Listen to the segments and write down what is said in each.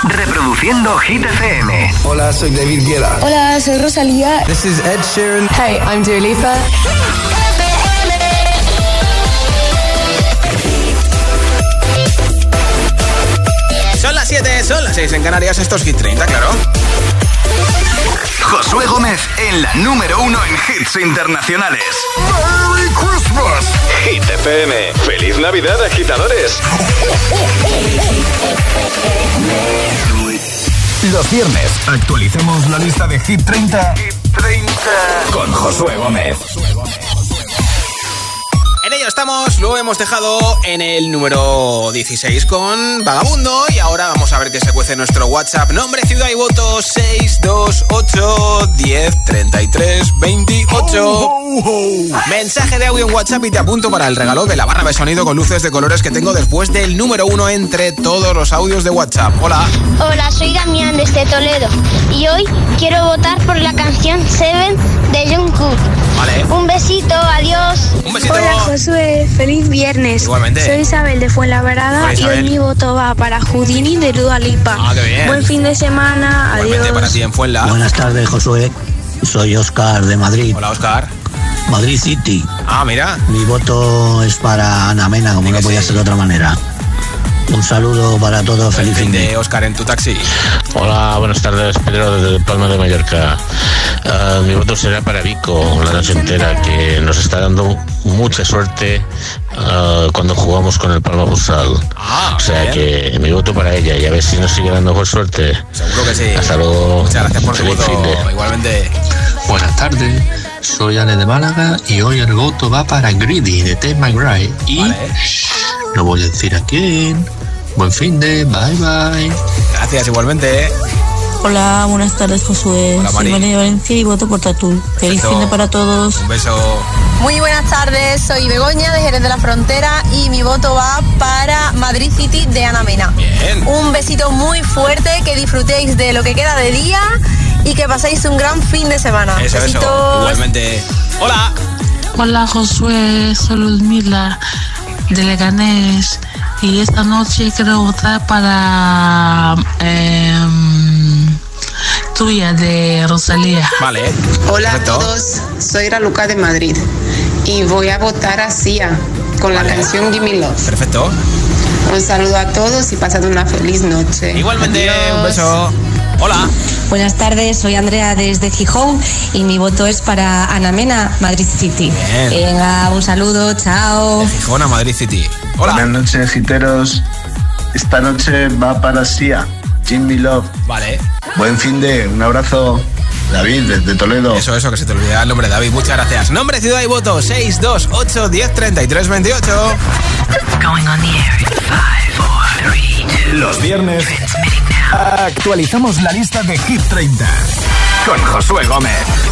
Reproduciendo Hit FM. Hola, soy David Guetta. Hola, soy Rosalía. This is Ed Sheeran. Hey, I'm Dua Lipa. Son las 7, son las 6 en Canarias, estos Hit 30, claro. Josué Gómez en la número 1 en hits internacionales. ¡Merry Christmas! Hit FM. ¡Feliz Navidad, agitadores! Los viernes actualicemos la lista de Hit 30, con Josué Gómez. En ello estamos, lo hemos dejado en el número 16 con Vagabundo y ahora vamos a ver qué se cuece en nuestro WhatsApp. Nombre, ciudad y voto 628 10 33 28. Mensaje de audio en WhatsApp y te apunto para el regalo de la barra de sonido con luces de colores que tengo después del número 1 entre todos los audios de WhatsApp. Hola. Hola, soy Damián desde Toledo y hoy quiero votar por la canción Seven de Jungkook. Vale. Un besito, adiós. Un besito. Hola Josué, feliz viernes. Igualmente. Soy Isabel de Fuenlabrada. Hola, y Isabel. hoy mi voto va para Houdini de Dua Lipa. Ah, qué bien. Buen fin de semana, Igualmente adiós. para ti en Fuenla. Buenas tardes, Josué. Soy Oscar de Madrid. Hola, Oscar. Madrid City. Ah, mira. Mi voto es para Ana Mena, como no podía ser de otra manera. Un saludo para todos, feliz fin de Oscar en tu taxi. Hola, buenas tardes, Pedro desde Palma de Mallorca. Mi voto será para Vico la noche entera, que nos está dando mucha suerte cuando jugamos con el Palma Futsal. O sea bien. que mi voto para ella y a ver si nos sigue dando por suerte. Seguro que sí. Hasta luego. Muchas gracias por tu Feliz voto. finde. Igualmente. Buenas tardes, soy Ale de Málaga y hoy el voto va para Greedy de Ted McRae y no voy a decir a quién. Buen fin de, bye bye. Gracias, igualmente. Hola, buenas tardes, Josué. Hola, Soy Mari. María de Valencia y voto por Tatú. Feliz Perfecto. fin de para todos. Un beso. Muy buenas tardes, soy Begoña de Jerez de la Frontera y mi voto va para Madrid City de Ana Mena. Bien. Un besito muy fuerte, que disfrutéis de lo que queda de día y que paséis un gran fin de semana. Eso, Besitos. eso. Igualmente. Hola. Hola Josué, soy Ludmila de Leganés y esta noche quiero votar para Tuya de Rosalía. Vale. Hola Perfecto. a todos, soy Raluca de Madrid y voy a votar a Sia con la canción Gimme Love. Perfecto. Un saludo a todos y pasad una feliz noche. Igualmente. Adiós. Un beso. Hola. Buenas tardes, soy Andrea desde Gijón y mi voto es para Ana Mena, Madrid City. Bien. Venga, un saludo, chao. De Gijón a Madrid City. Hola. Buenas noches, giteros. Esta noche va para Sia, Gimme Love. Vale. Buen fin de, un abrazo. David, desde Toledo. Eso, que se te olvida el nombre, David. Muchas gracias. Nombre, ciudad y voto 628 10 33 28. Going on the air in 5, 4, 3, 2. Los viernes actualizamos la lista de Hit 30 con Josué Gómez.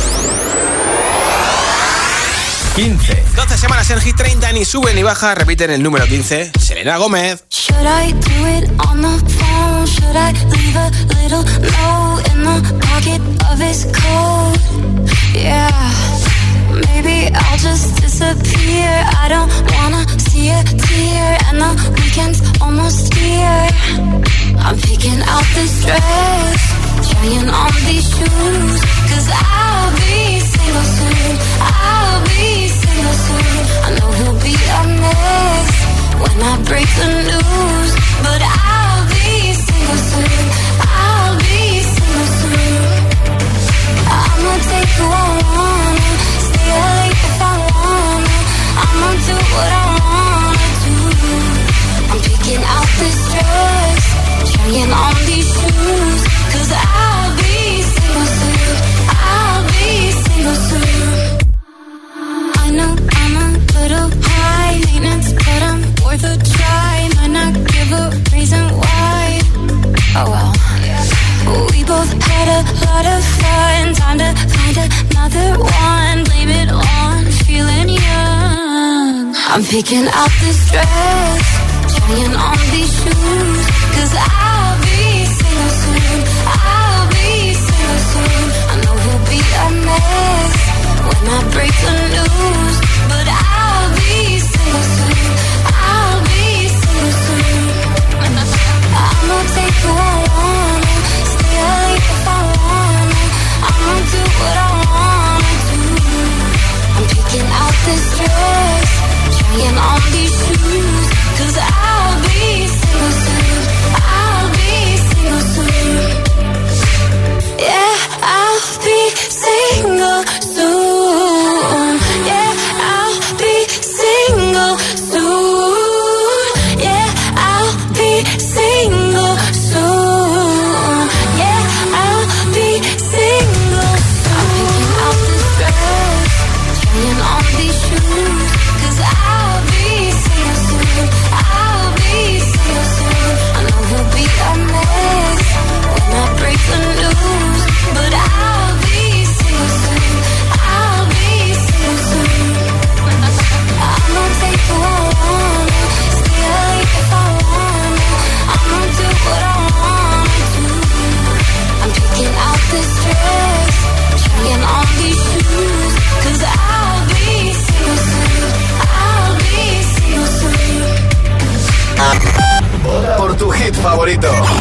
15. 12 semanas en Hit 30, ni sube ni baja. Repiten el número 15. Selena Gómez. Should I do it on the phone? Should I leave a little note in the pocket of his coat? Yeah, maybe I'll just disappear. I don't wanna see a tear, and the weekend's almost here. I'm picking out this dress, trying on these shoes, 'cause I'll be single soon. I'll be single soon. I know he'll be a mess when I break the news, but I'll be single soon. I'll be single soon. I'ma take who I wanna, stay late if I wanna. I'ma do what I wanna do. I'm picking out this dress, trying on these shoes, 'cause I'll be single soon. I'll be single soon. I know I'm a little high maintenance, but I'm worth a try. Might not give a reason why. Oh well. We both had a lot of fun. Time to find another one. Blame it on feeling young. I'm picking out this dress, trying on these shoes, 'cause I'll be single soon. I'll be single soon. I know he'll be a mess when I break the news, but I'll be single soon. I'll be single soon. I'ma take who I want,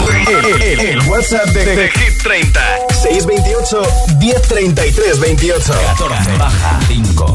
El WhatsApp de Hit 30. 628 1033 28. 14 baja 5.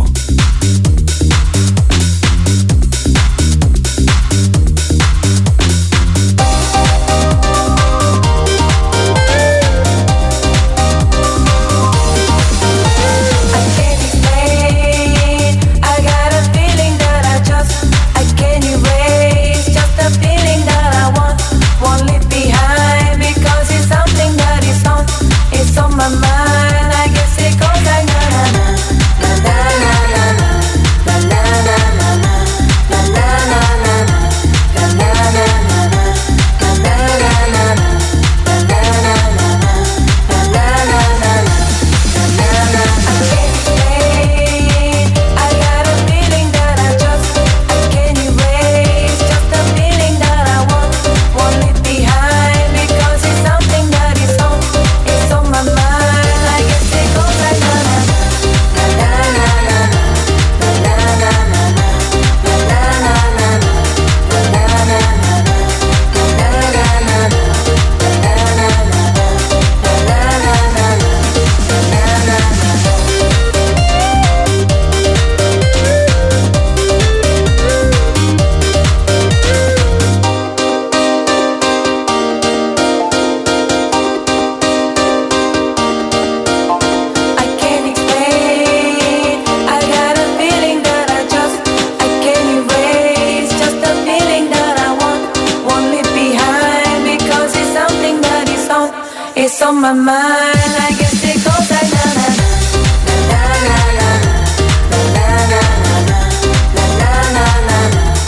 on my mind. I guess it goes like na na na na na na na na na na na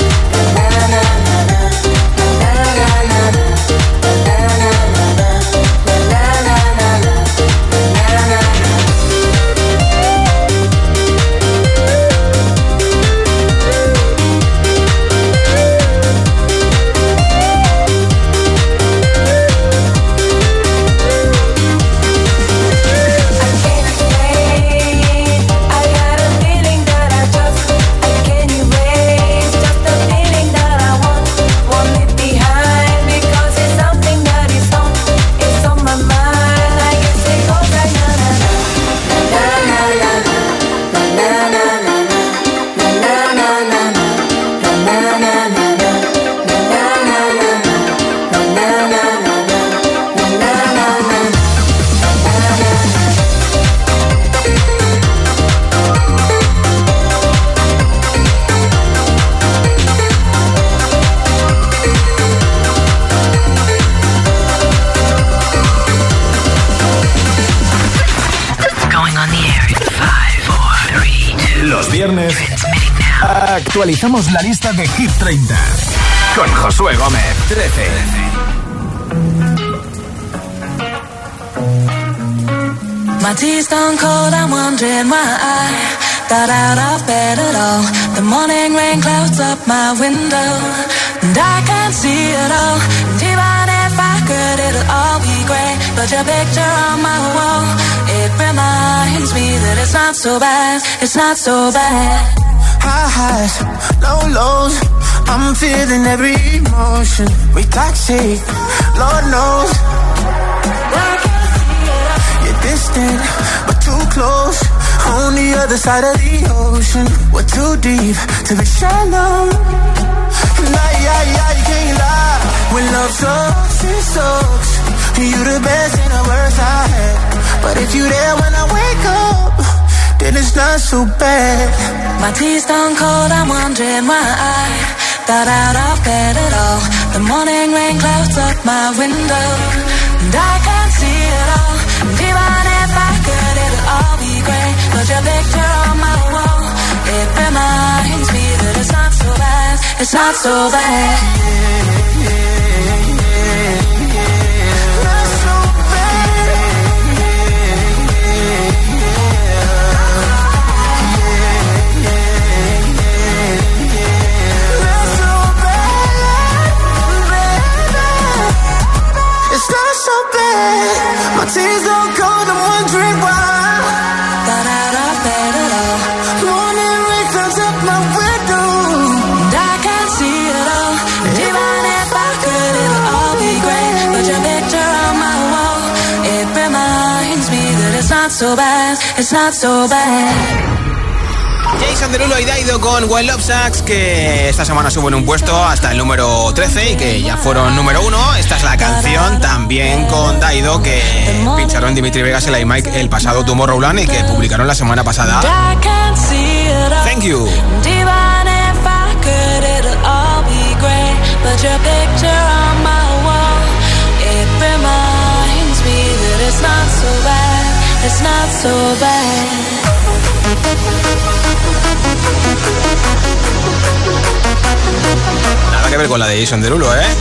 Actualizamos la lista de Hit 30 con Josué Gómez. 13. My tea's gone cold, I'm wondering why I got out of bed at all. The morning rain clouds up my window, and I can't see it all. And even if I could, it'll all be grey. But your picture on my wall, it reminds me that it's not so bad, it's not so bad. High highs, low lows, I'm feeling every emotion. We toxic, Lord knows. You're distant, but too close. On the other side of the ocean, we're too deep to be shallow. Nah, yeah, you can't lie. When love sucks, it sucks. You the best and the worst I had. But if you there when I wake up, then it's not so bad. My tea's gone cold, I'm wondering why I got out of bed at all. The morning rain clouds up my window, and I can't see it all. And even if I could, it'll all be grey. But your picture on my wall, it reminds me that it's not so bad, it's not so bad. My tears don't cold, I'm wondering why. Got out of bed at all. Morning rain clouds up my window, and I can't see it all. And even if I could, it'll all be grey. But your not so bad, it's not so bad. Jason Derulo y Daido con When Love Sucks, que esta semana suben un puesto hasta el número 13 y que ya fueron número 1. Esta es la canción también con Daido que pincharon Dimitri Vegas y la iMike el pasado Tomorrowland y que publicaron la semana pasada. Thank You. Nada que ver con la de Jason Derulo, ¿eh?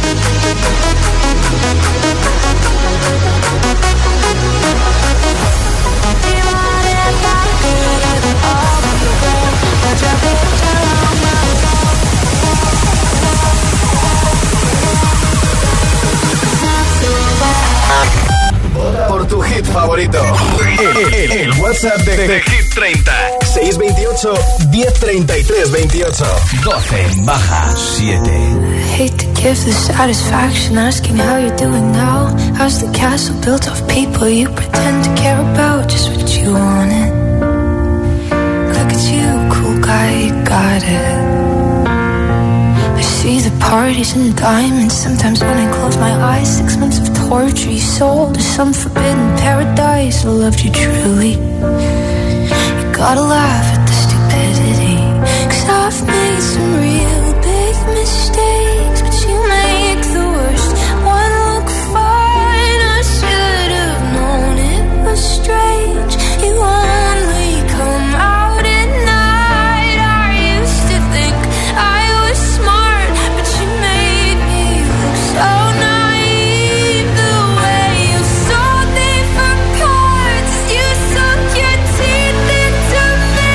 Vota por tu hit favorito. El WhatsApp de Hit 30. 628 1033 28. 12 baja 7. Hate to give the satisfaction asking how you're doing now. How's the castle built of people you pretend to care about? Just what you wanted. Look at you, cool guy, you got it. I see the parties and diamonds. Sometimes when I close my eyes, 6 months of torture you sold to some forbidden paradise. I loved you truly. You gotta laugh at the stupidity, 'cause I've made some real big mistakes, but you make the worst one look fine. I should have known it was strange. You only come out at night. I used to think I was smart, but you made me look so naive. The way you sold me for parts, you sunk your teeth into me.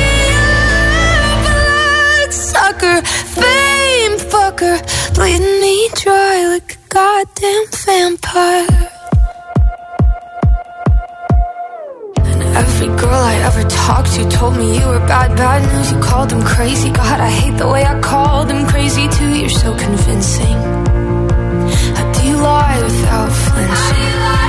Bloodsucker, fame fucker, bleeding me dry like a goddamn vampire. And every girl I ever talked to told me you were bad news. You called them crazy. God, I hate the way I called them crazy too. You're so convincing. How do you lie without flinching?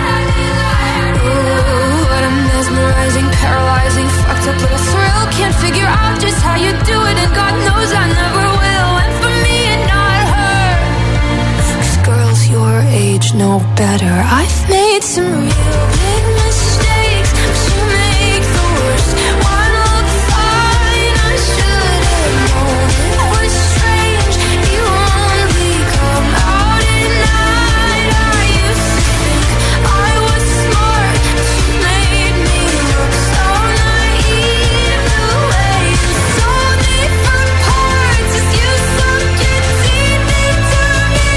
Ooh, what a mesmerizing, paralyzing, fucked up little thrill. Can't figure out just how you do it, and God knows I never will. And for me and not her, 'cause girls your age know better. I've made some real big mistakes, but you make the worst one look fine. I should have known it was strange. You only come out at night. I used to think I was smart, but you made me look so naive. The way you sold me for parts as you sunk your teeth into me.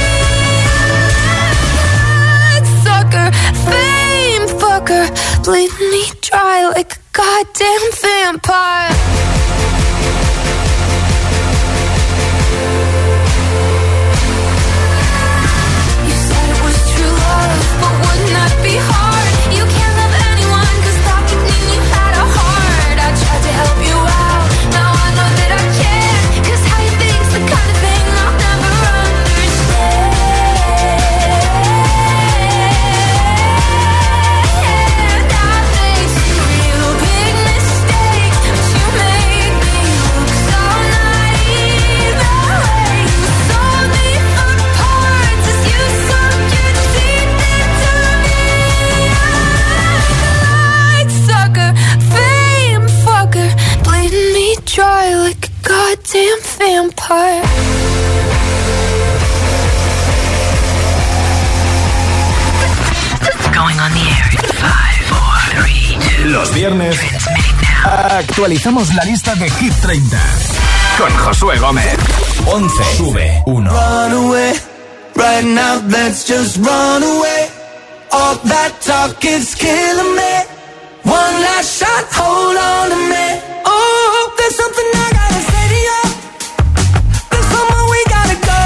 Sucker, fame fucker, bleeding me dry like a goddamn vampire. You said it was true love, but wouldn't that be hard? You can't love anyone 'cause that would mean you had a heart. I tried to help you out, now I know that I can't, 'cause how you think's the kind of thing I'll never understand. I made some real big mistakes, but you made me look so naive. The way you sold me for parts as you sunk your teeth into me. Bloodsucker, fame fucker, bleeding me dry like a goddamn vampire. Going on the air in 5, 4, 3, 2. Los viernes actualizamos la lista de Hit 30 con Josué Gómez. 11 sube 1. Run away, right now let's just run away. All that talk is killing me. One last shot, hold on to me. Oh, there's something I gotta say to you. There's somewhere we gotta go.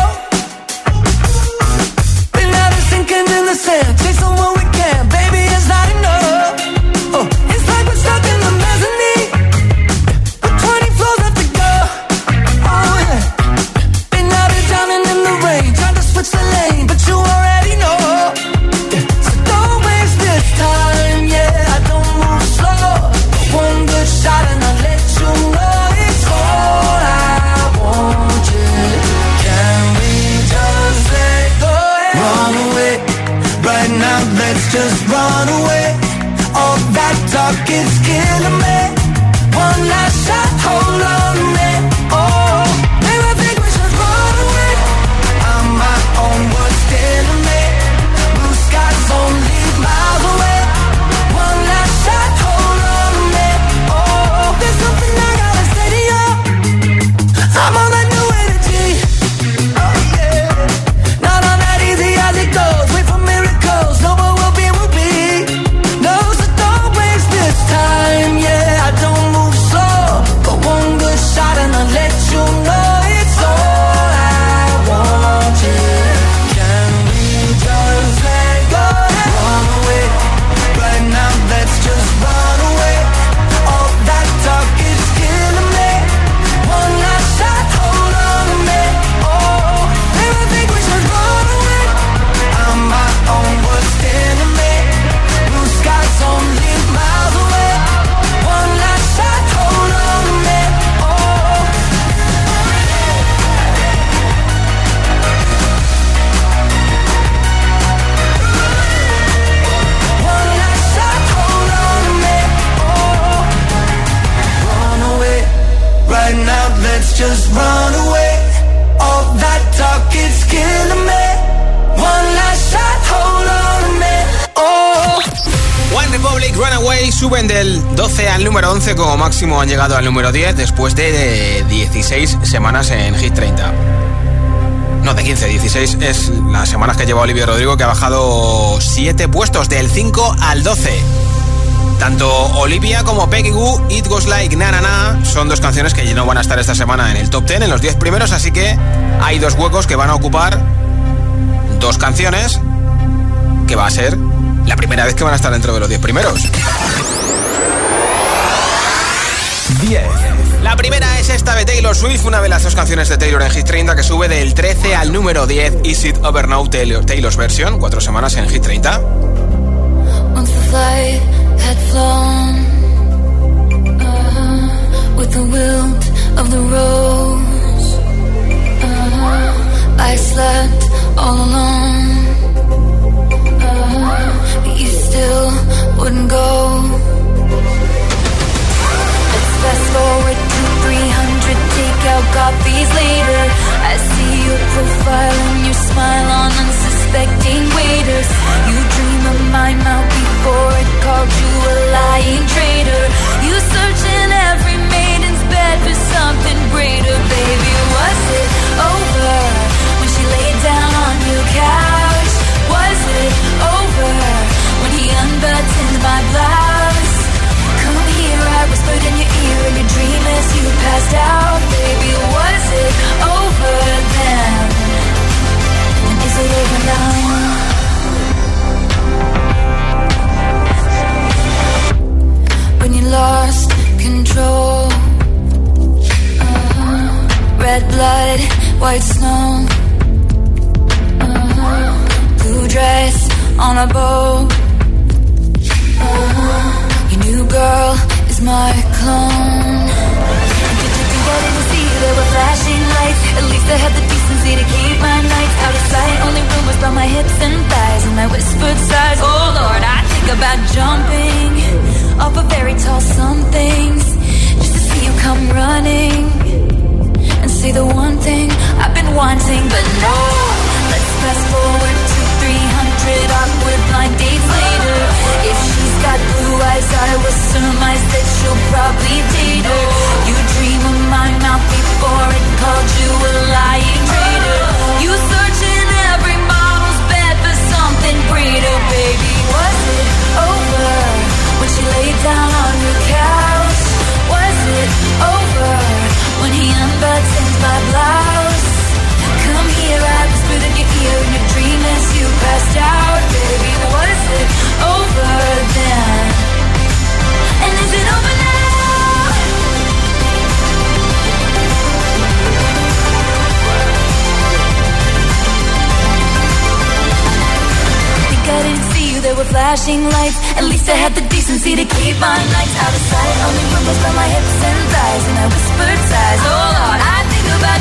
Been out of sinking in the sand, chasing what we can, baby, it's not enough. Oh, it's like we're stuck in the mezzanine, with 20 floors left to go. Oh yeah, been out of drowning in the rain, trying to switch the lane, but you already know. Yeah. So don't waste this time, yeah, I don't move now, let's just run away. All that talk is killing me. One last shot, hold on a minute. Oh, maybe I think we should run away. I'm my own worst enemy. Blue skies only miles away. One last shot, hold on a minute. Oh, there's something I gotta say to you. I'm on that new energy. Oh yeah. Not on that easy as it goes. Wait for miracles. No, what will be, will be. No, so don't waste this time. Yeah, I don't move slow, but one good shot and I'll let you know it's all I want. Yeah. Can we just let go and run away? Right now, let's just run away. All that talk is killing me. One last shot, hold on a minute. Oh, maybe I think we should run away. I'm my own worst enemy. Blue skies only miles away. One last shot, hold on a minute. Oh. One last shot, hold on a minute. Oh. Run away. Right now, let's just run away. All that talk is killing me. One last shot, hold on a minute. Oh. One Republic, Runaway, suben del 12 al número 11, como máximo han llegado al número 10 después de 16 semanas en Hit 30. No, de 15, 16 es las semanas que lleva Olivia Rodrigo, que ha bajado 7 puestos, del 5 al 12. Tanto Olivia como Peggy Gou, It Goes Like Na Na Na, son dos canciones que no van a estar esta semana en el top 10, en los 10 primeros, así que hay dos huecos que van a ocupar dos canciones, que va a ser la primera vez que van a estar dentro de los 10 primeros. 10. La primera es esta de Taylor Swift, una de las dos canciones de Taylor en Hit 30, que sube del 13 al número 10. Is It Over Now, Taylor's version, 4 semanas en Hit 30. Once the flight had flown, with the wilt of the rose, I slept all alone, but you still wouldn't go. Let's fast forward to 300 takeout coffees later. I see your profile and your smile on unsuspecting waiters. You dream of my mouth before it called you a lying traitor. You search in every maiden's bed for something greater. Baby, was it over when she laid down on your couch? Was it over when he unbuttoned my blouse? Come here, I whispered in your ear in your dream as you passed out. Baby, was it over then? And is it over now? When you lost control, red blood, white snow, blue dress on a boat. Your new girl is my clone. Did you think I didn't see there were flashing lights? At least I had the decency to keep my nights out of sight. Only rumors about my hips and thighs and my whispered sighs. Oh Lord, I think about jumping off of very tall somethings just to see you come running and say the one thing I've been wanting. But no, let's fast forward to 300 awkward blind dates later. If she's got blue eyes, I will surmise that she'll probably date her. You dream of my mouth before it called you a lying traitor. You search in every model's bed for something greater. Baby, was it over when she laid down on your couch? Was it over when he unbuttoned my blouse? Come here, I whispered in your ear in your dream as you passed out. Baby, was it over then? And is it over now? Think I didn't see you, there were flashing lights. At least I had the decency to keep my nights out of sight. Only rumors about my hips and thighs and my whispered sighs. Oh Lord, I think about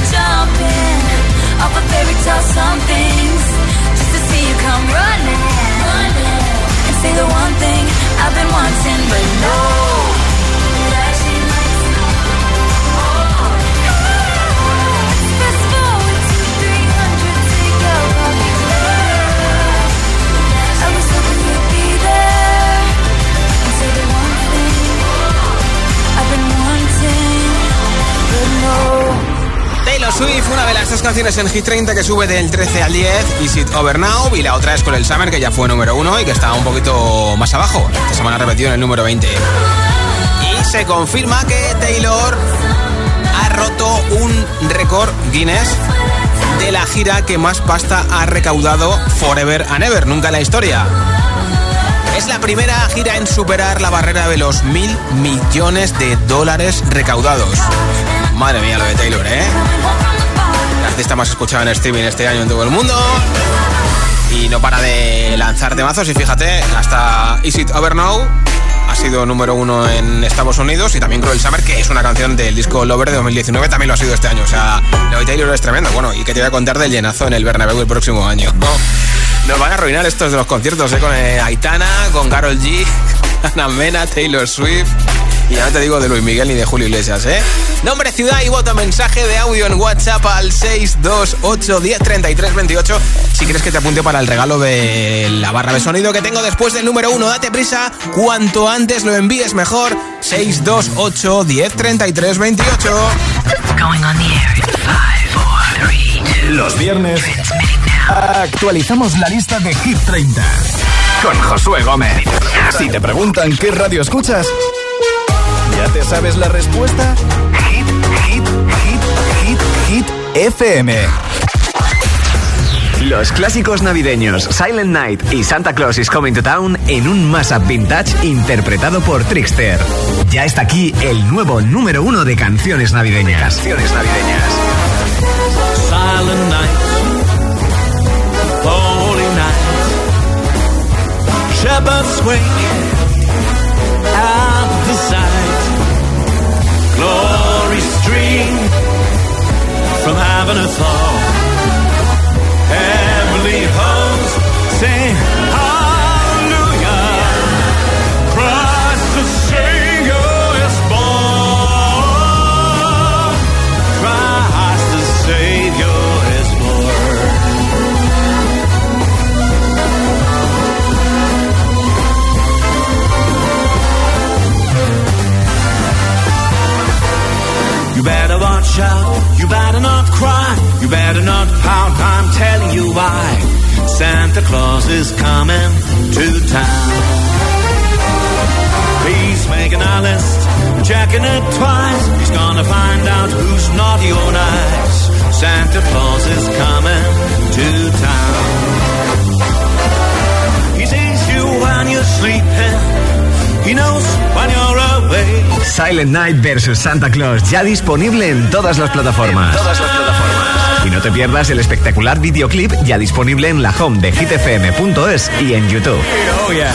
jumping off a fairy tale some things just to see you come running. canciones en Hit 30 que sube del 13 al 10, Is It Over Now, y la otra es con el Summer, que ya fue número 1 y que está un poquito más abajo. Esta semana repetido en el número 20. Y se confirma que Taylor ha roto un récord Guinness de la gira que más pasta ha recaudado Forever and Ever, nunca en la historia. Es la primera gira en superar la barrera de los $1.000 millones recaudados. Madre mía lo de Taylor, ¿eh? La artista más escuchada en streaming este año en todo el mundo. Y no para de lanzar temazos. Y fíjate, hasta Is It Over Now ha sido número 1 en Estados Unidos. Y también Cruel Summer, que es una canción del disco Lover de 2019, también lo ha sido este año. O sea, lo de Taylor es tremendo. Bueno, y que te voy a contar del llenazo en el Bernabéu el próximo año. Nos van a arruinar estos de los conciertos, con Aitana, con Karol G, Anamena, Taylor Swift. Y ya no te digo de Luis Miguel ni de Julio Iglesias, ¿eh? Nombre, ciudad y voto, mensaje de audio en WhatsApp al 628103328. Si quieres que te apunte para el regalo de la barra de sonido que tengo después del número 1. Date prisa, cuanto antes lo envíes mejor. 628103328. Going on the air in 5, 4, 3, 2. Los viernes actualizamos la lista de Hit 30 con Josué Gómez. Si te preguntan qué radio escuchas, ¿ya te sabes la respuesta? Hit FM. Los clásicos navideños Silent Night y Santa Claus is Coming to Town en un mashup vintage interpretado por Trickster. Ya está aquí el nuevo número 1 de canciones navideñas. Silent Night, Holy Night, Shepherds wake at the sight, glory stream from heaven afar, heavenly hosts sing hallelujah, Christ the Savior is born, Christ the Savior is born. You better watch out, you better not cry, you better not pout, I'm telling you why. Santa Claus is coming to town. He's making a list, checking it twice. He's gonna find out who's naughty or nice. Santa Claus is coming to town. He sees you when you're sleeping, he knows when you're away. Silent Night vs Santa Claus, ya disponible en todas las plataformas. Y no te pierdas el espectacular videoclip, ya disponible en la home de hitfm.es y en YouTube. Oh yeah.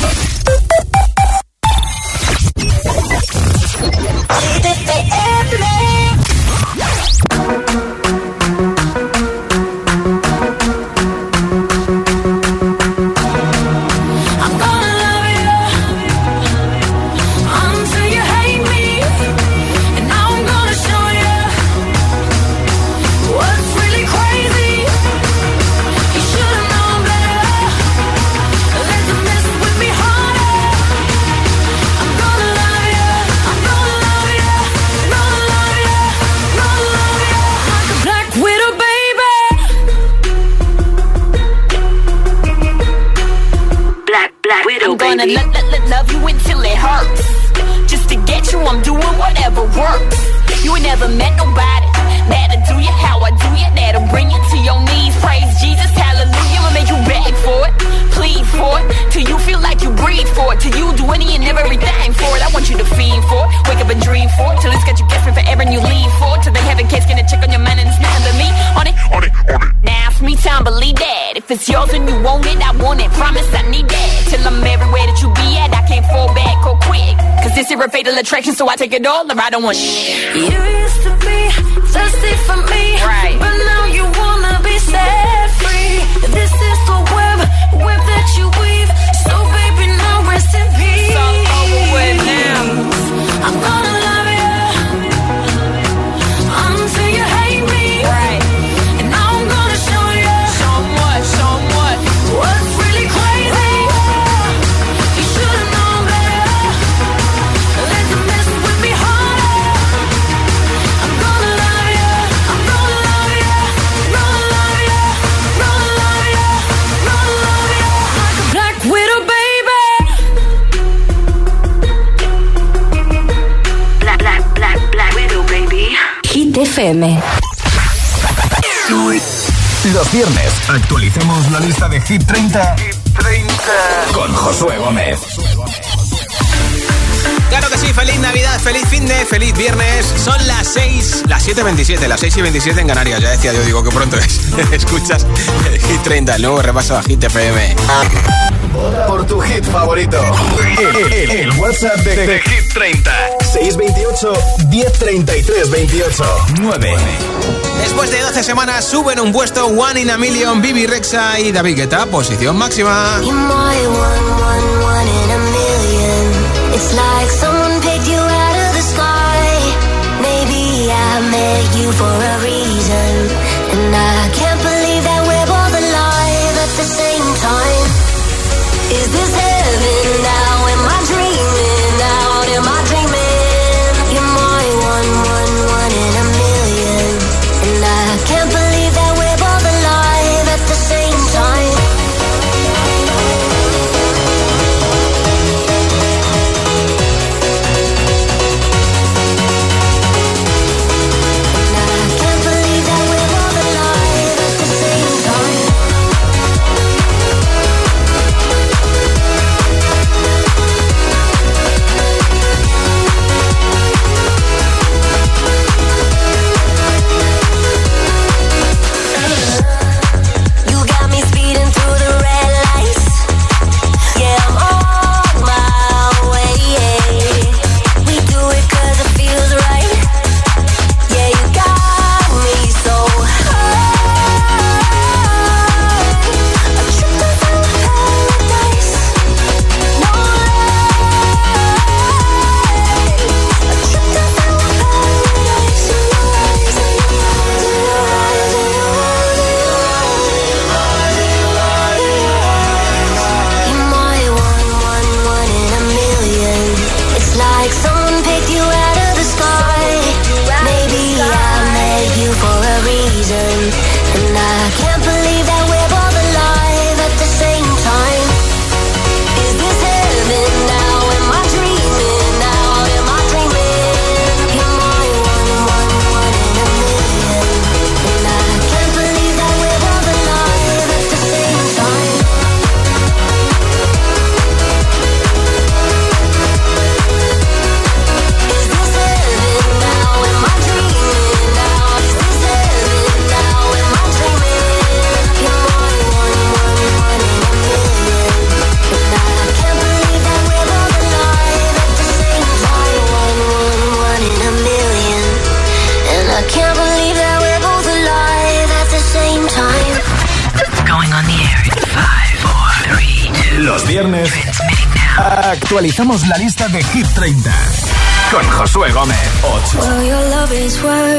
I'm gonna love you until it hurts. Just to get you, I'm doing whatever works. You ain't never met nobody that'll do you how I do you, that'll bring you to your knees. Praise Jesus, hallelujah. I'll make you beg for it, plead for it, till you feel like you breathe for it, till you do any and everything for it. I want you to fiend for it, wake up and dream for it, till it's got you guessing forever and you leave for it, till they have a case, gonna check on your man and it's nothing to me. On it. Now it's me time, believe that. If it's yours and you want it, I want it. Promise I need that. Till I'm everywhere that you be at, I can't fall back or quick. Cause this is a fatal attraction, so I take it all or I don't want shit. You used to be thirsty for me, right? But now you wanna be set free. This is the web that you weave. So baby, now rest in peace. It's all over with now. I'm gonna love you until you hate me, right? And now I'm gonna show you somewhat what's really crazy. You should've known better. Let them mess with me harder. I'm gonna love you FM. Los viernes actualicemos la lista de Hit 30 con Josué Gómez. Claro que sí, feliz Navidad, feliz finde, feliz viernes. Son las 6, las 7:27, las 6:27 en Canarias. Ya decía yo, digo que pronto es. Escuchas el Hit 30, el nuevo repaso a Hit FM. Vota por tu hit favorito. El WhatsApp de Hit 30. 628 1033 28 9. Después de 12 semanas suben un puesto One in a Million, Bibi Rexha y David Guetta, posición máxima. It's like someone picked you out of the sky. Maybe I met you for a reason, and I can't believe that we're both alive at the same time. Is this heaven now? Am I dreaming out? Am I dreaming? You're my one in a million, and I can't believe that we're both alive at the same time. Actualizamos la lista de Hit 30 con Josué Gómez. 8. Well, your love is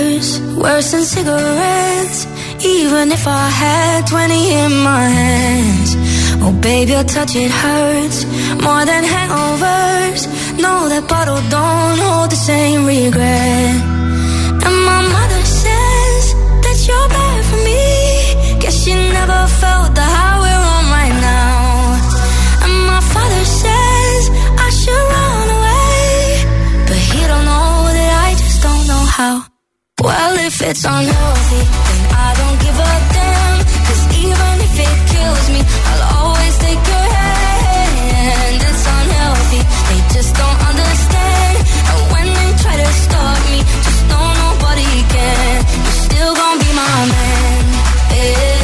worse than cigarettes. Even if I had 20 in my hands. Oh, baby, your touch, it hurts more than hangovers. No, that bottle don't hold the same regret. And my mother says that you're bad for me. Guess she never felt the high we're on right now. And my father says I should run away, but he don't know that I just don't know how. Well, if it's unhealthy, then I don't give a damn. 'Cause even if it kills me, I'll always take your hand. It's unhealthy, they just don't understand. And when they try to stop me, just know nobody can. You're still gonna be my man. Hey.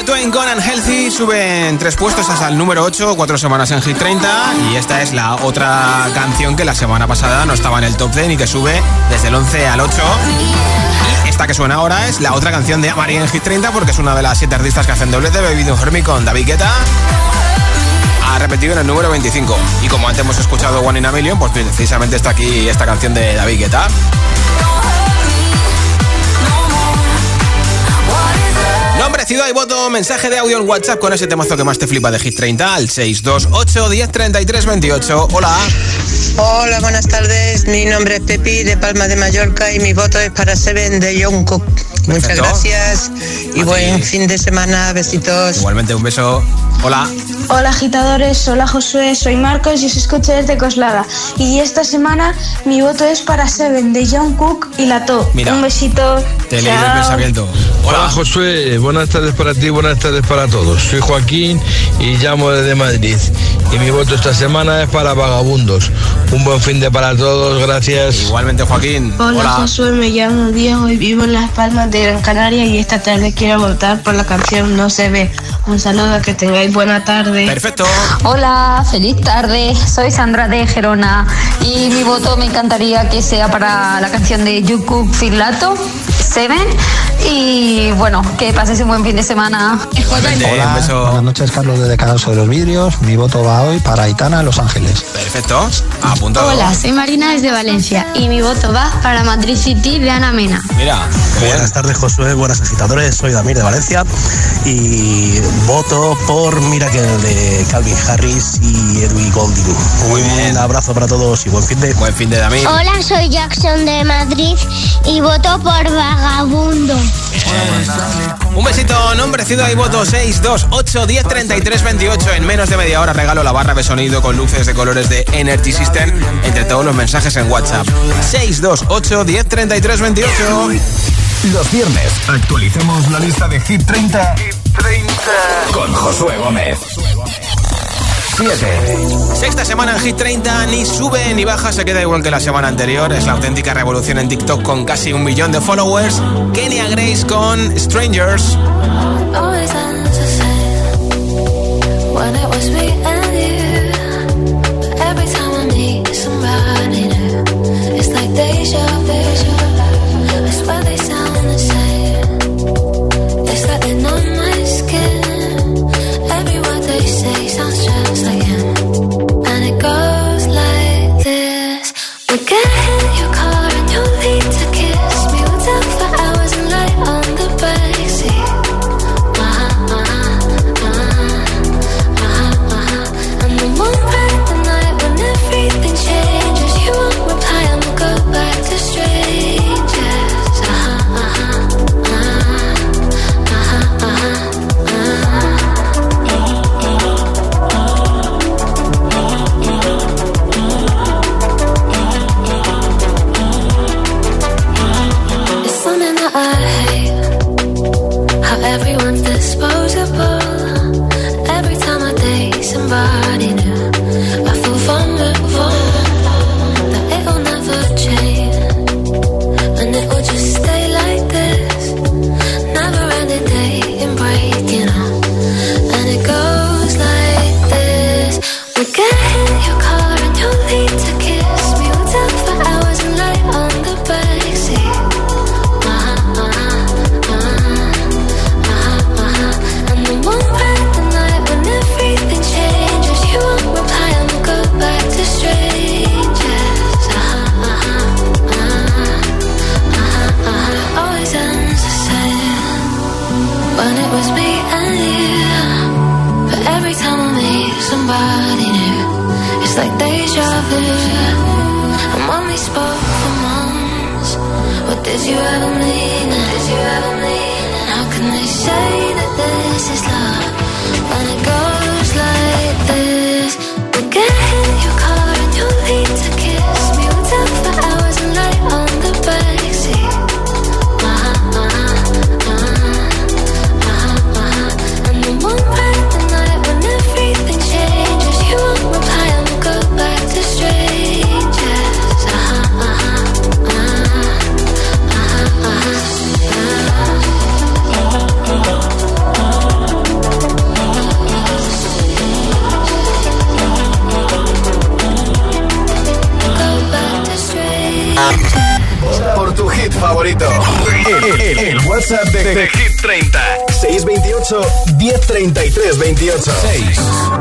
Shania Twain con Unhealthy suben 3 puestos hasta el número 8, 4 semanas en Hit 30. Y esta es la otra canción que la semana pasada no estaba en el top 10 y que sube desde el 11 al 8. Y esta que suena ahora es la otra canción de María en Hit 30, porque es una de las 7 artistas que hacen doblete. Baby Don't Hurt Me con David Guetta ha repetido en el número 25. Y como antes hemos escuchado One in a Million, pues precisamente está aquí esta canción de David Guetta. Nombre, ciudad y voto, mensaje de audio en WhatsApp con ese temazo que más te flipa de Hit 30 al 628 10 33 28. Hola. Hola, buenas tardes. Mi nombre es Pepi de Palma de Mallorca y mi voto es para Seven de Jungkook. Muchas gracias y buen fin de semana. Besitos. Igualmente, un beso. Hola. Hola agitadores, hola Josué, soy Marcos y os escucho desde Coslada. Y esta semana mi voto es para Seven de Jungkook y Lato. Mira, un besito. Te leí el pensamiento. Hola Josué, buenas tardes para ti, buenas tardes para todos. Soy Joaquín y llamo desde Madrid. Y mi voto esta semana es para Vagabundos. Un buen fin de para todos, gracias. Igualmente Joaquín. Hola Josué, me llamo Diego y vivo en Las Palmas de Gran Canaria y esta tarde quiero votar por la canción No se ve. Un saludo, que tengáis buena tarde. Perfecto. Hola, feliz tarde. Soy Sandra de Gerona y mi voto me encantaría que sea para la canción de Jungkook Lato, Seven. Y bueno, que pases un buen fin de semana. Hola, buenas noches, Carlos desde Cadalso de los Vidrios. Mi voto va hoy para Aitana, Los Ángeles. Perfecto, apuntado. Hola, soy Marina desde Valencia y mi voto va para Madrid City de Ana Mena. Mira, buenas tardes Josué, buenas agitadores, soy Damir de Valencia y voto por Miracle de Calvin Harris y Edwin Golding. Muy bien. Un abrazo para todos y buen fin de. Buen fin de Damir. Hola, soy Jackson de Madrid y voto por Vagabundo. Un besito, nombre, ciudad y voto 628 10 33 28. En menos de media hora regalo la barra de sonido con luces de colores de Energy System entre todos los mensajes en WhatsApp. 628 10 33 28. Los viernes actualicemos la lista de Hit 30 con Josué Gómez. 7. Sexta semana en Hit 30, ni sube ni baja, se queda igual que la semana anterior. Es la auténtica revolución en TikTok con casi 1 millón de followers. Kenya Grace con Strangers. WhatsApp de Hit 30. 628 1033 28. 6.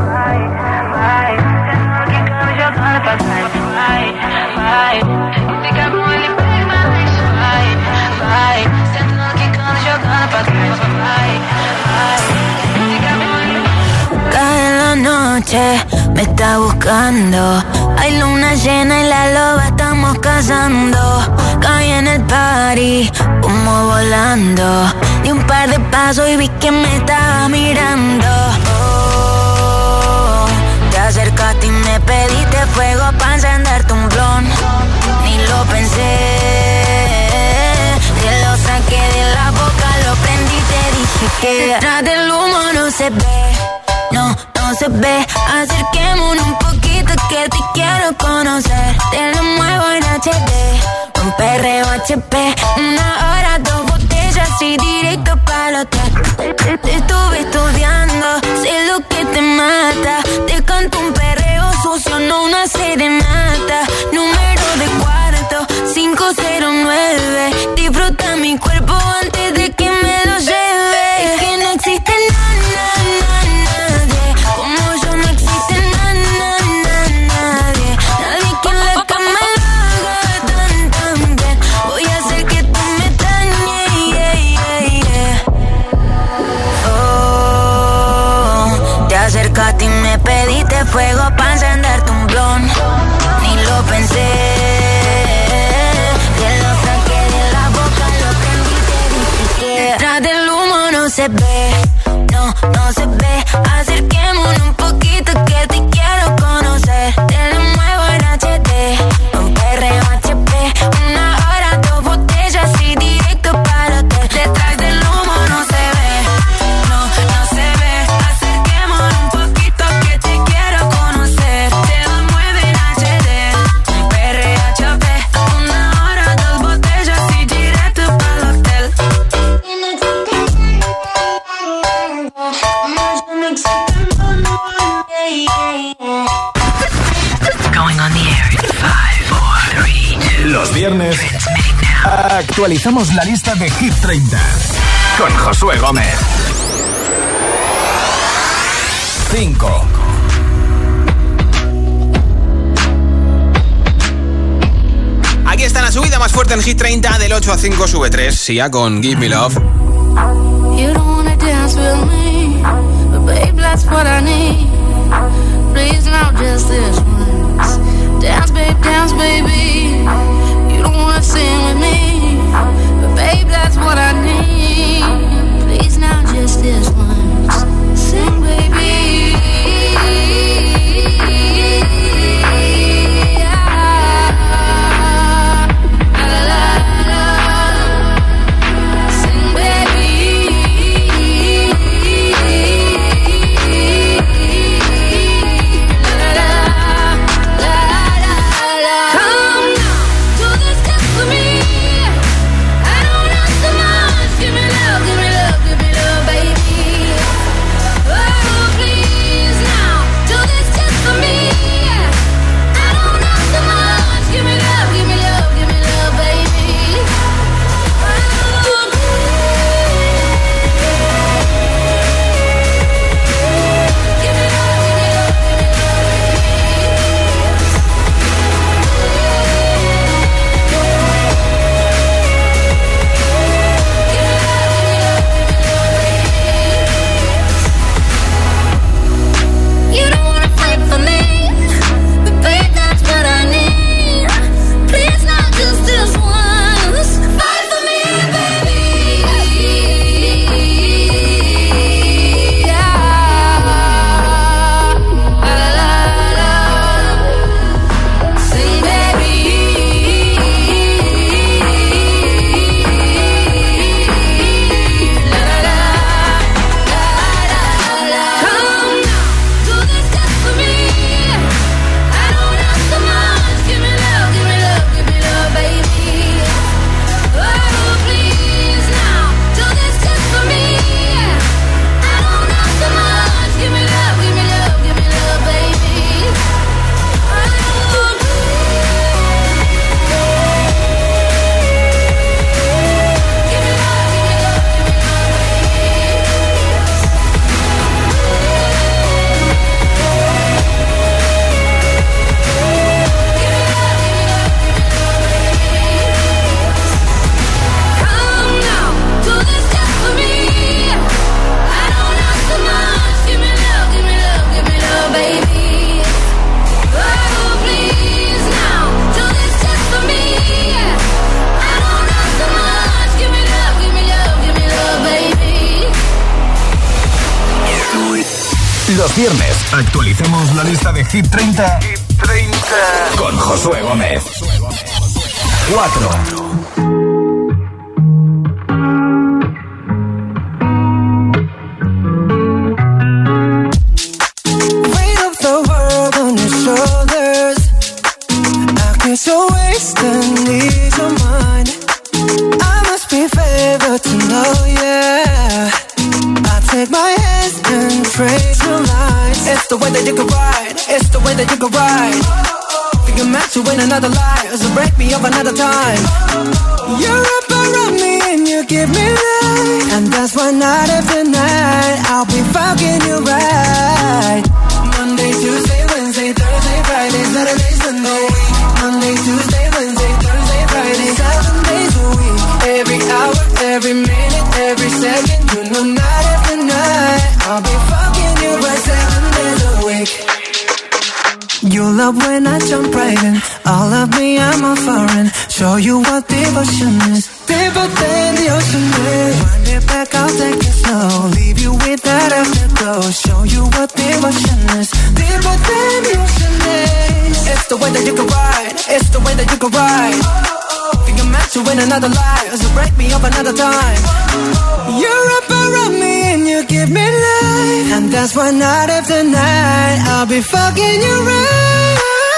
Cae la noche, me está buscando. Hay luna llena y la loba estamos cazando. Caí en el party, humo volando. Di un par de pasos y vi que me estaba mirando. Oh, te acercaste y me pediste fuego para encenderte un blon. Ni lo pensé, te lo saqué de la boca, lo prendí y te dije que detrás del humo no se ve. No se ve, acerquémonos un poquito que te quiero conocer. Te lo muevo en HD, con perreo HP. 1 hora, 2 botellas y directo para el hotel. Te estuve estudiando, sé lo que te mata. Te canto un perreo sucio, no una serenata. Número de cuarto, 509. Disfruta mi cuerpo antes de que me lo lleve. Es que no existe nadie como yo, no existe nadie. Nadie que en la cama lo haga tan bien. Voy a hacer que tú me extrañes. Oh, te acercaste y me pediste fuego para encenderte un blon. Ni lo pensé, te lo saqué de la boca, lo prendí y te dije que detrás del humo no se ve. No se ve, acerquémonos un poquito que te quiero conocer. Te lo muevo en HD, con perreo HP. 1 hora, 2 botellas y directo para el hotel. Detrás del humo no se ve, no se ve. Acerquémonos un poquito que te quiero conocer. Te lo muevo en HD, con perreo HP. 1 hora, 2 botellas y directo para el hotel. Going on the air in 5, 4, 3, 2. Los viernes actualizamos la lista de Hit 30 con Josué Gómez. 5. Aquí está la subida más fuerte en Hit 30. Del 8 a 5 sube 3. Sia con Give Me Love. You don't wanna dance with me, but babe, that's what I need. Please, now just this once. Dance, baby. You don't wanna sing with me, but babe, that's what I need. Please, now just this once. Sing, baby. Sing, baby. Los viernes actualicemos la lista de Hit 30, con Josué Gómez. 4. So wasting ease of mind. I must be favored to know, yeah. I take my hands and trace your lines. It's the way that you can ride. It's the way that you can ride. Think I'm meant to win another life, so break me up another time. You're up around me and you give me life, and that's why night after night I'll be fucking you right. Monday, Tuesday, Wednesday, Thursday, Friday, Saturday, Sunday. Monday, Tuesday, Wednesday, Thursday, Friday, 7 days a week. Every hour, every minute, every second. You know night after night I'll be fucking you right 7 days a week. You love when I jump right in. All of me, I'm a foreign. Show you what devotion is. Deeper than the ocean is. Wind it back, I'll take it slow. Leave you with that afterglow. Show you what devotion is. Deeper than the ocean is. It's the way that you can ride. It's the way that you can ride. Think I'm meant to win another life, so break me up another time. You're up around me and you give me life, and that's why night after night I'll be fucking you right.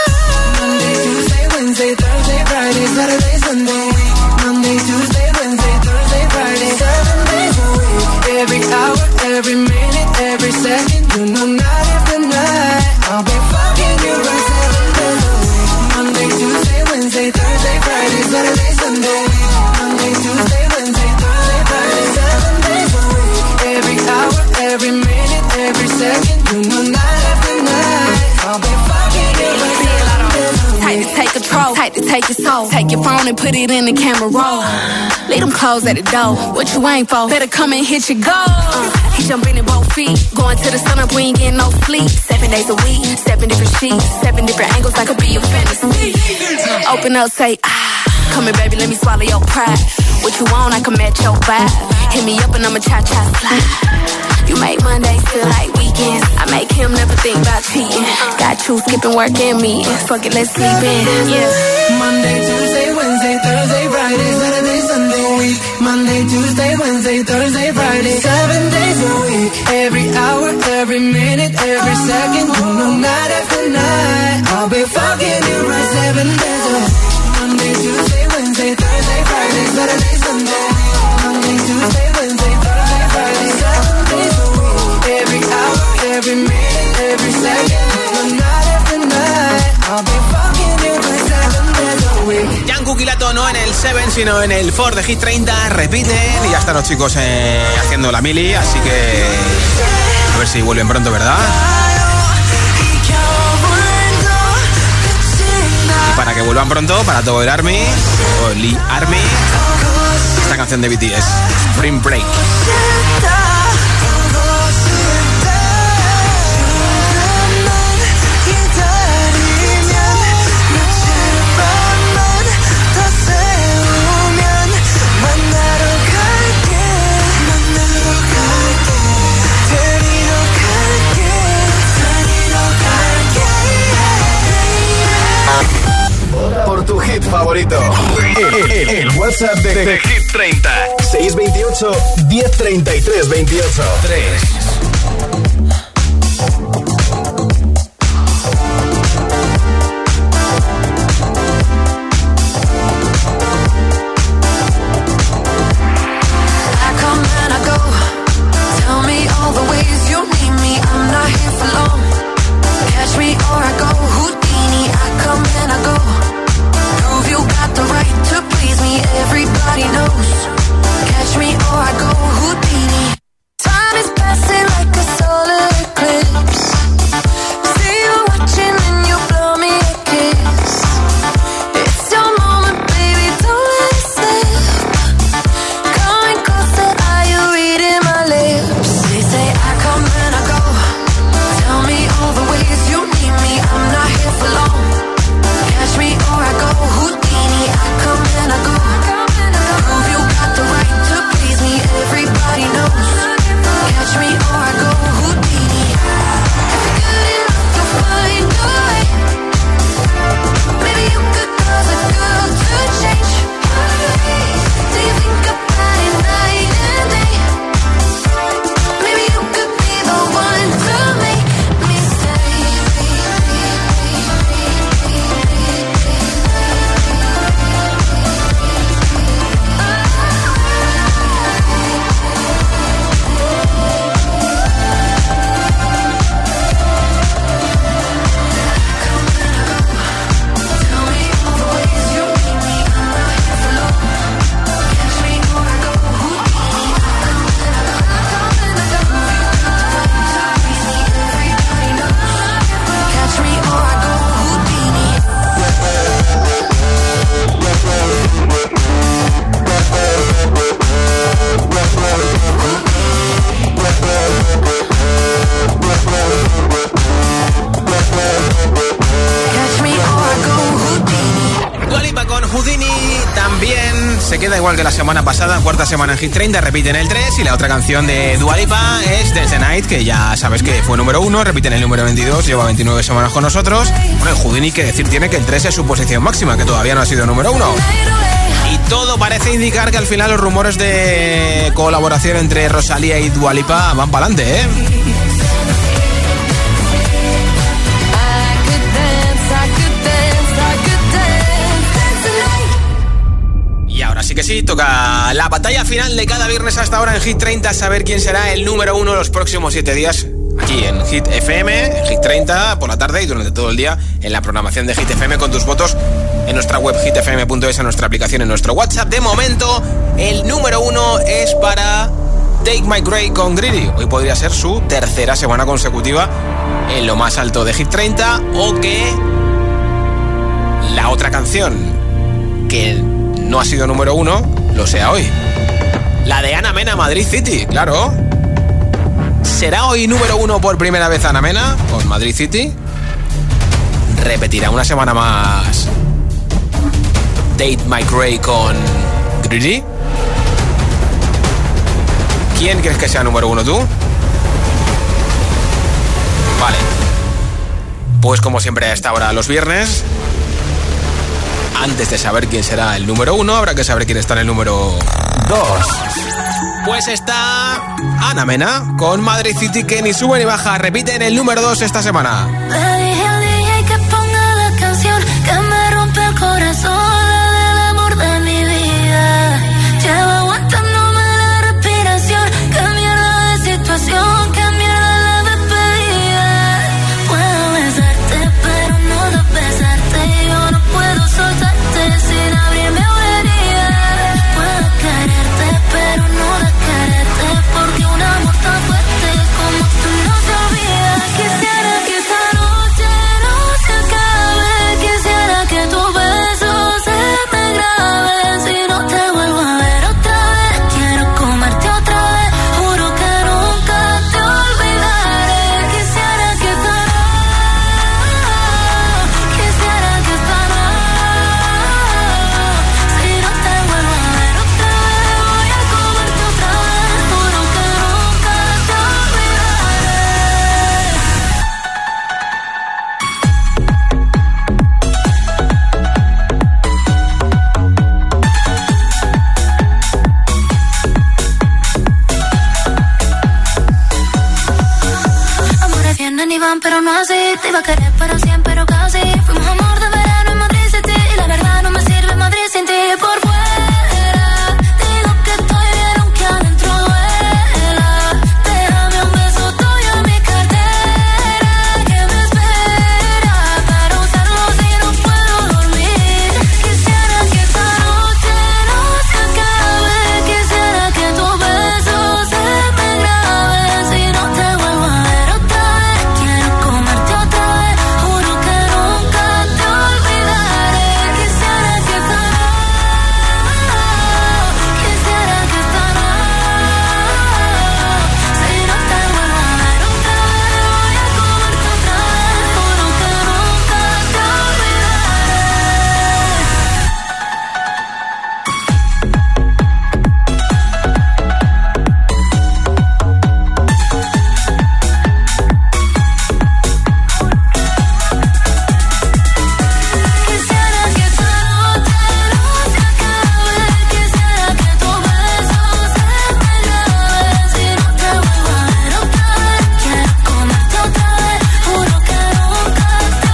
Monday, Tuesday, Wednesday, Thursday, Friday, Saturday, Sunday. Monday, Tuesday, Wednesday, Thursday, Friday, 7 days a week. Every hour, every minute, every second. You know night after night I'll be fucking you right 7 days a week. Monday, Tuesday, Wednesday, Thursday, Friday, Saturday, Sunday. Monday, Tuesday, Wednesday, Thursday, Friday, 7 days a week. Every hour, every minute, every second. You know night after night I'll be fucking you right 7 days a week. Tight to take control, tight to take your soul. Take your phone and put it in the camera roll. Leave them clothes at the door. What you ain't for? Better come and hit your goal. He jumping in both feet. Going to the sun up, we ain't getting no sleep. 7 days a week, 7 different sheets, 7 different angles, that could be a fantasy. Open up, say, come here, baby, let me swallow your pride. What you want, I can match your vibe. Hit me up and I'ma cha-cha slide. You make Mondays feel like weekends. I make him never think about cheating. Got you skipping work and me. Fuck it, let's sleep in. Yeah. Monday, Tuesday, Wednesday, Thursday, Friday, Saturday, Sunday, week. Monday, Tuesday, Wednesday, Thursday, Friday, 7 days a week. Every hour, every minute, every second. You know night after night I'll be fucking you right 7 days a week. Monday, Tuesday, Wednesday, Thursday, Friday, Saturday, Sunday. Monday, Tuesday, Wednesday, Thursday, Friday, 7 days a week. Every hour, every minute, every second. Night after night I'll be fucking you for 7 days a week. Jungkook y Lato no en el 7, sino en el 4 de Hit 30. Repiten y ya están los chicos haciendo la mili, así que a ver si vuelven pronto, ¿verdad? Y para que vuelvan pronto, para todo el Army o Lee Army, esta canción de BTS, Spring Break. Por tu hit favorito. El WhatsApp de Hit 30. 628 1033 28 3. Everybody knows. Catch me or I go Houdini. Time is passing like a solar queda igual que la semana pasada, cuarta semana en Hit 30, repite en el 3. Y la otra canción de Dua Lipa es Dance the Night, que ya sabes que fue número 1, repite en el número 22, lleva 29 semanas con nosotros. Bueno, el Houdini, que decir tiene que el 3 es su posición máxima, que todavía no ha sido número 1. Y todo parece indicar que al final los rumores de colaboración entre Rosalía y Dua Lipa van para adelante, ¿eh? Y ahora sí que sí, toca la batalla final de cada viernes hasta ahora en Hit 30, saber quién será el número 1 los próximos 7 días. Aquí en Hit FM, en Hit 30, por la tarde y durante todo el día en la programación de Hit FM con tus votos en nuestra web hitfm.es, en nuestra aplicación, en nuestro WhatsApp. De momento, el número 1 es para Take My Grey con Greedy. Hoy podría ser su tercera semana consecutiva en lo más alto de Hit 30, o que la otra canción que no ha sido número 1 lo sea hoy. La de Ana Mena, Madrid City, claro. ¿Será hoy número 1 por primera vez Ana Mena con Madrid City? ¿Repetirá una semana más Date My Grey con Greedy? ¿Quién crees que sea número 1 tú? Vale. Pues como siempre a esta hora los viernes, antes de saber quién será el número 1, habrá que saber quién está en el número 2. Pues está Ana Mena con Madrid City, que ni sube ni baja, repite en el número 2 esta semana. Le dije al DJ que ponga la canción que me rompe el corazón, el amor de mi vida. Llevo aguantándome la respiración, qué mierda de situación, qué mierda la despedida. Puedo besarte, pero no de besarte, yo no puedo soltarte sin abrirme una herida. Puedo quererte, pero no de quererte, porque un amor tan fuerte como tú no se olvida. Quisiera que esta noche no se acabe, quisiera que tus besos se me graben. Si no te vuelvo a ver otra vez, quiero comerte otra vez, juro que nunca te olvidaré. Quisiera que esta noche, quisiera que esta noche, si no te vuelvo a ver otra vez, voy a comerte otra vez, juro que nunca te olvidaré. Amores vienen y van, pero no así. Te iba a querer para siempre, pero casi. Fuimos amor de verano en Madrid City, y la verdad no me sirve Madrid sin ti. Por fuera digo que estoy bien, aunque adentro duela. Déjame un beso tuyo en mi cartera, que me espera para usarlo si no puedo dormir. Quisiera que esta noche no se acabe, quisiera que tus besos se me graben. Si no te vuelvo a ver otra vez, quiero comerte otra vez, juro que nunca te olvidaré. Quisiera que esta noche, quisiera que esta noche, si no te vuelvo a ver otra vez, voy a comerte otra vez, juro que nunca te Quisiera que esta noche no se acabe, quisiera que tus besos se me graben. Si no te vuelvo a ver otra vez, quiero comerte otra vez, juro que nunca te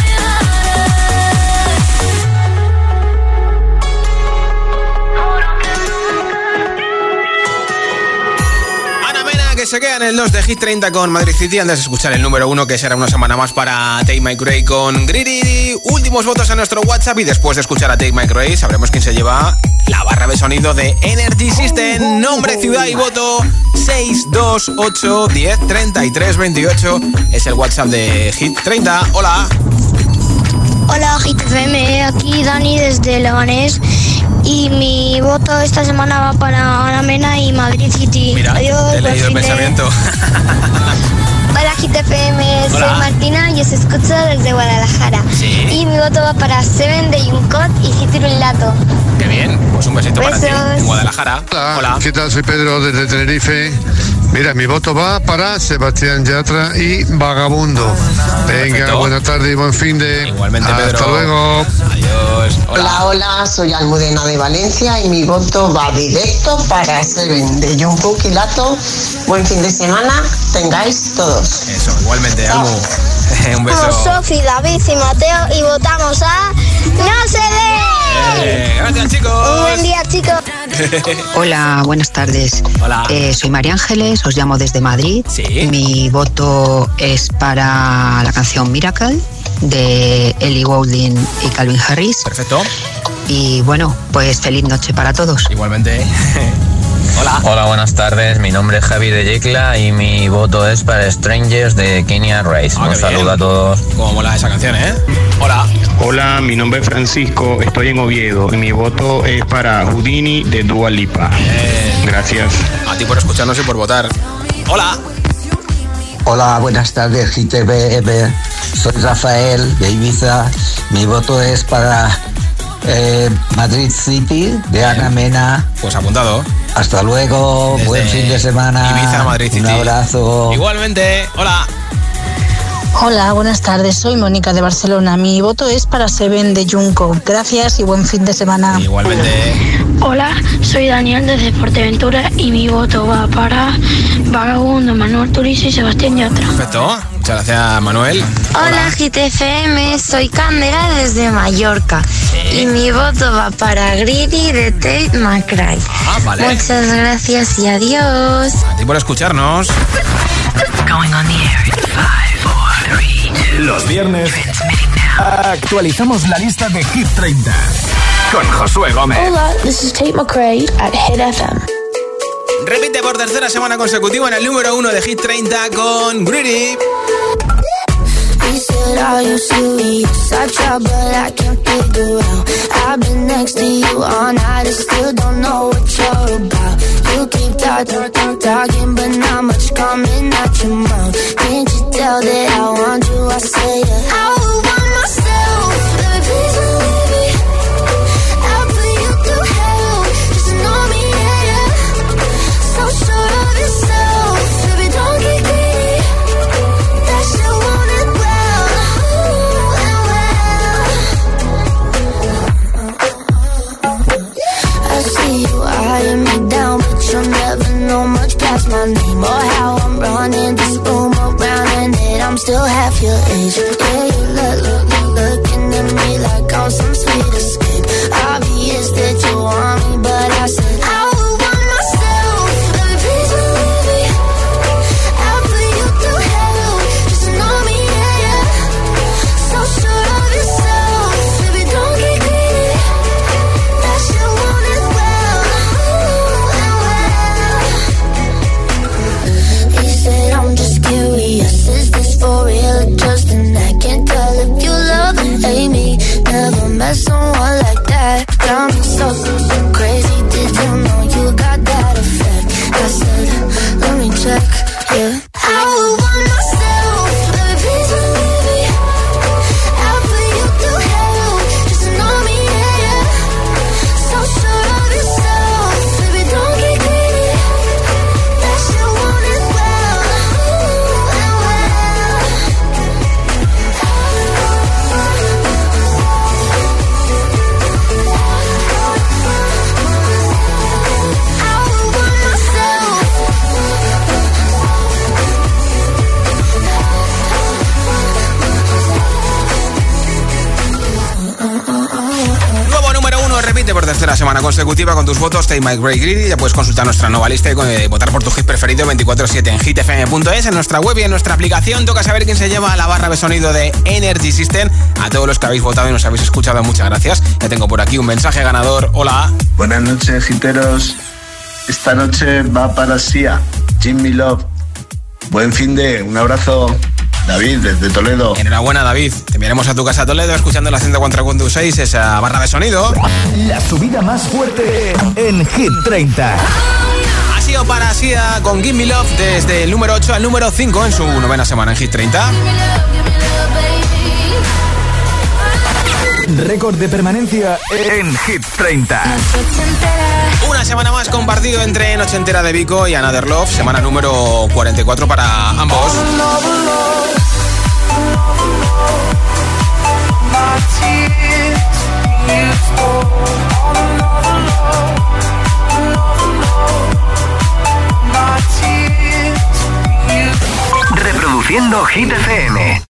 Ana Mena, que se queda en el 2 de Hit 30 con Madrid City, antes de escuchar el número 1, que será una semana más para Take My Grey con Greedy. Últimos votos en nuestro WhatsApp, y después de escuchar a Take My Grey sabremos quién se lleva la barra de sonido de Energy System. Nombre, ciudad y voto 628 10 33 28 es el WhatsApp de Hit 30. Hola. Hola, Hit FM, aquí Dani desde Leganés, y mi voto esta semana va para Ana Mena y Madrid City. Mira, Adiós, he leído el buen fin de- pensamiento. Hola, Hit FM, soy Martina y os escucho desde Guadalajara. ¿Sí? Y mi voto va para Seven de Jungkook y Citrillato. Qué bien, pues un besito para ti en Guadalajara. Hola, ¿qué tal? Soy Pedro desde Tenerife. Mira, mi voto va para Sebastián Yatra y Vagabundo. Venga, perfecto. Buena tarde y buen fin de... Igualmente, Pedro. Hasta luego. Adiós. Hola, soy Almudena de Valencia y mi voto va directo para Seven de Jungkook y Lato. Buen fin de semana, tengáis todos. Eso, igualmente, Almu. Un beso. Somos Sofi, David y Mateo y votamos a ¡No se ve! Gracias, chicos. Un buen día, chicos. Hola, buenas tardes. Hola. Soy María Ángeles, os llamo desde Madrid. Sí. Mi voto es para la canción Miracle de Ellie Goulding y Calvin Harris. Perfecto. Y bueno, pues feliz noche para todos. Igualmente. Hola. Hola, buenas tardes. Mi nombre es Javi de Yecla y mi voto es para Strangers de Kenya Rice. Un saludo a todos. Cómo mola esa canción, ¿eh? Hola. Hola, mi nombre es Francisco, estoy en Oviedo y mi voto es para Houdini de Dua Lipa. Gracias. A ti por escucharnos y por votar. Hola. Hola, buenas tardes, GTV. Soy Rafael de Ibiza. Mi voto es para Madrid City de Ana Mena. Pues apuntado. Hasta luego, desde buen fin de semana. Ibiza, Madrid City. Un abrazo. Igualmente, hola. Hola, buenas tardes, soy Mónica de Barcelona. Mi voto es para Seven de Jungkook. Gracias y buen fin de semana. Igualmente. Hola, soy Daniel desde Fuerteventura y mi voto va para Vagabundo, Manuel Turizo y Sebastián Yatra. Perfecto, muchas gracias, Manuel. Hola, GTFM, soy Candela desde Mallorca. Y mi voto va para Greedy de Tate McRae. Vale. Muchas gracias y adiós. A ti por escucharnos. Going on the air in 5, 4, 3, 2. Los viernes actualizamos la lista de Hit 30 con Josué Gómez. Hola, this is Tate McRae at Hit FM. Repite por tercera semana consecutiva en el número 1 de Hit 30 con Greedy. He said, are you serious? I try, but I can't figure out. I've been next to you all night and still don't know what you're about. You keep talking, but not much coming out your mouth. Can't you tell that I want you? I say that I would want myself. Let me please believe me. I'll put you through hell. Just know me, yeah. So sure of yourself. Baby, don't get greedy. That shit won't end well. I see you eyeing me down, but you'll never know much past my name or how I'm running this room around and that I'm still half your age. Yeah, you looking at me like I'm some sweet escape. Obvious that you want me, but I said I would want myself. Let me please believe me. I'll put you through hell. Just know me, yeah. So sure of yourself. Baby, don't get greedy. That shit won't end well. He said I'm just curious. Is this for real or just an act? Can't tell if you love and hate me. Never met someone like that. Got me so crazy. Did you know you got that effect? I said, let me check, yeah. I would want myself. Let me please believe me. I'll put you through hell. Just know me, yeah. So sure of yourself. Baby, don't get greedy. That shit won't end well. Nuevo número 1, repite por tercera semana consecutiva con tus votos. Tate McRae, Greedy. Ya puedes consultar nuestra nueva lista y votar por tu hit preferido 24/7 en hitfm.es, en nuestra web y en nuestra aplicación. Toca saber quién se lleva a la barra de sonido de Energy System. A todos los que habéis votado y nos habéis escuchado, muchas gracias. Ya tengo por aquí un mensaje ganador. Hola. Buenas noches, giteros. Esta noche va para Sia, Jimmy Love. Buen fin de, un abrazo. David, desde Toledo. Enhorabuena, David. Te enviaremos a tu casa a Toledo escuchando la 104.6, esa barra de sonido. La subida más fuerte en Hit 30. Así Alessio para Sia con Give Me Love desde el número 8 al número 5 en su 9ª semana en Hit 30. Récord de permanencia en Hit 30. Una semana más compartido entre Noche Entera de Vico y Another Love, semana número 44 para ambos. Reproduciendo Hit FM.